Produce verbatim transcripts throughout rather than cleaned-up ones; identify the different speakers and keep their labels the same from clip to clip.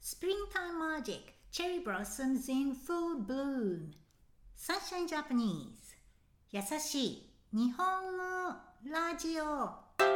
Speaker 1: Springtime Magic Cherry Blossoms in Full Bloom Sunshine Japanese 優しい日本語ラジオ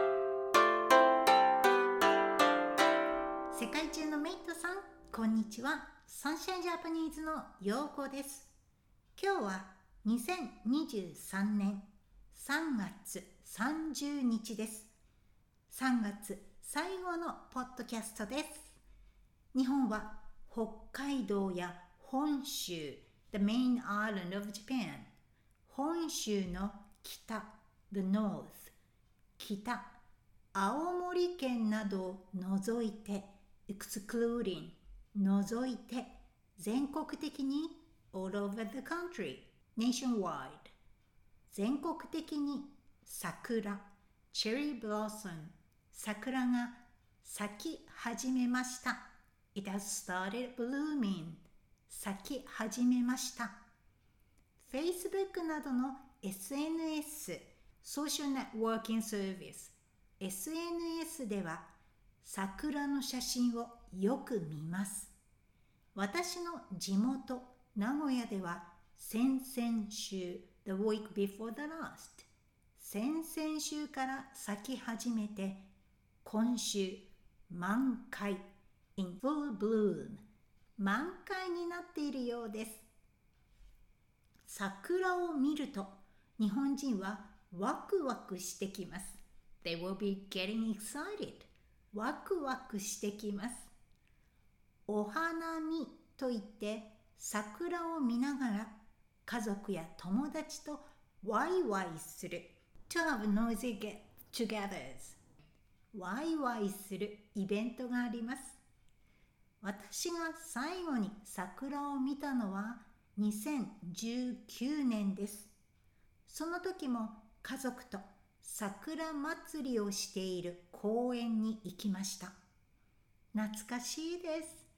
Speaker 1: 世界中のメイトさん、こんにちは。Sunshine Japanese のようこです。今日はにせんにじゅうさんねんさんがつさんじゅうにちです。さんがつ最後のポッドキャストです。日本は北海道や本州 The main island of Japan 本州の北 The north 北青森県などを除いて excluding 除いて全国的に all over the country nationwide 全国的に桜 cherry blossom 桜が咲き始めました。It has started blooming. 咲き始めました。Facebook などの エスエヌエス Social Networking Service エスエヌエス では桜の写真をよく見ます。私の地元名古屋では先々週 The week before the last 先々週から咲き始めて今週満開In full bloom 満開になっているようです。桜を見ると日本人はワクワクしてきます。They will be getting excited ワクワクしてきます。お花見といって桜を見ながら家族や友達とワイワイする To have noisy get-togethers ワイワイするイベントがあります。私が最後に桜を見たのはにせんじゅうきゅうねんです。その時も家族と桜祭りをしている公園に行きました。懐かしいです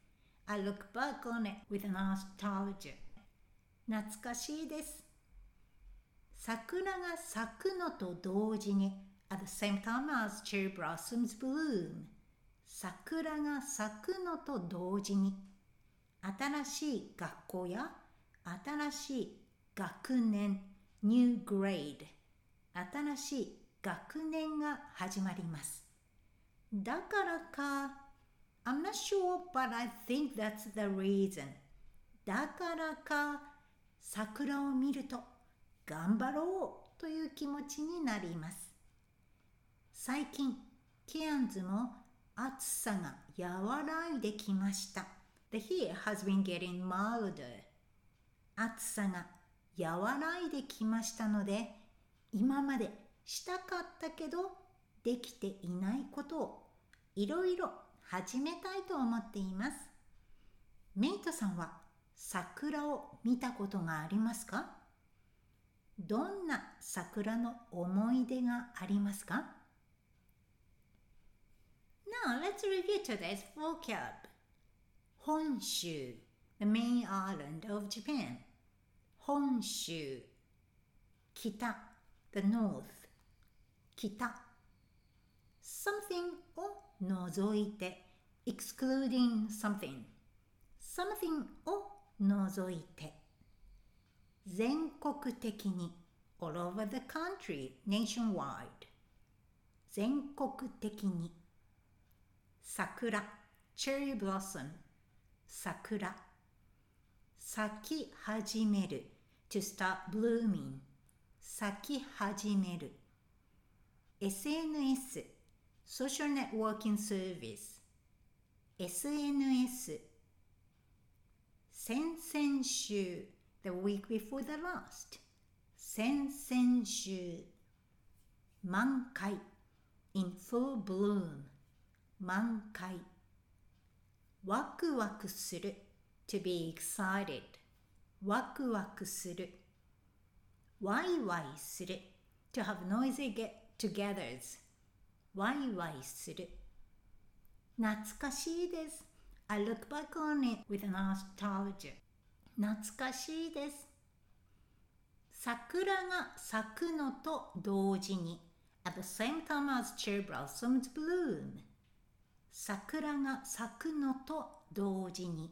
Speaker 1: 。I look back on it with nostalgia. 懐かしいです。桜が咲くのと同時に at the same time as cherry blossoms bloom桜が咲くのと同時に新しい学校や新しい学年 New grade 新しい学年が始まります。だからか I'm not sure but I think that's the reason だからか桜を見ると頑張ろうという気持ちになります。最近ケアンズも暑さが和らいできました。The heat has been getting milder. 暑さが和らいできましたので、今までしたかったけどできていないことをいろいろ始めたいと思っています。メイトさんは桜を見たことがありますか？どんな桜の思い出がありますか？Now let's review today's vocab. 本州 The main island of Japan 本州北 The north 北 Something を除いて excluding something Something を除いて全国的に all over the country nationwide 全国的に桜 cherry blossom 桜咲き始める to start blooming 咲き始める エスエヌエス social networking service エスエヌエス 先々週 the week before the last 先々週満開 in full bloom満開ワクワクする to be excited ワクワクするワイワイする to have noisy get-togethers ワイワイする懐かしいです I look back on it with nostalgia 懐かしいです桜が咲くのと同時に at the same time as cherry blossoms bloom桜が咲くのと同時に。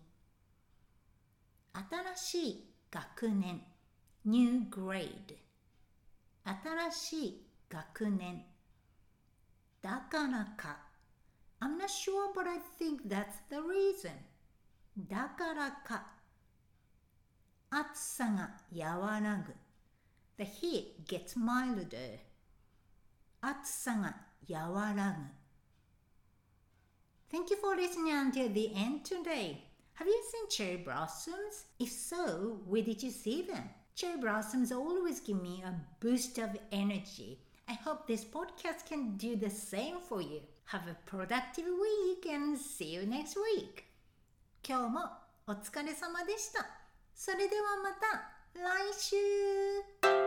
Speaker 1: 新しい学年 New grade。 新しい学年。だからか I'm not sure but I think that's the reason。 だからか暑さが和らぐ The heat gets milder。 暑さが和らぐ。 Thank you for listening until the end today. Have you seen cherry blossoms? If so, where did you see them? Cherry blossoms always give me a boost of energy. I hope this podcast can do the same for you. Have a productive week and see you next week. 今日もお疲れ様でした。それではまた来週。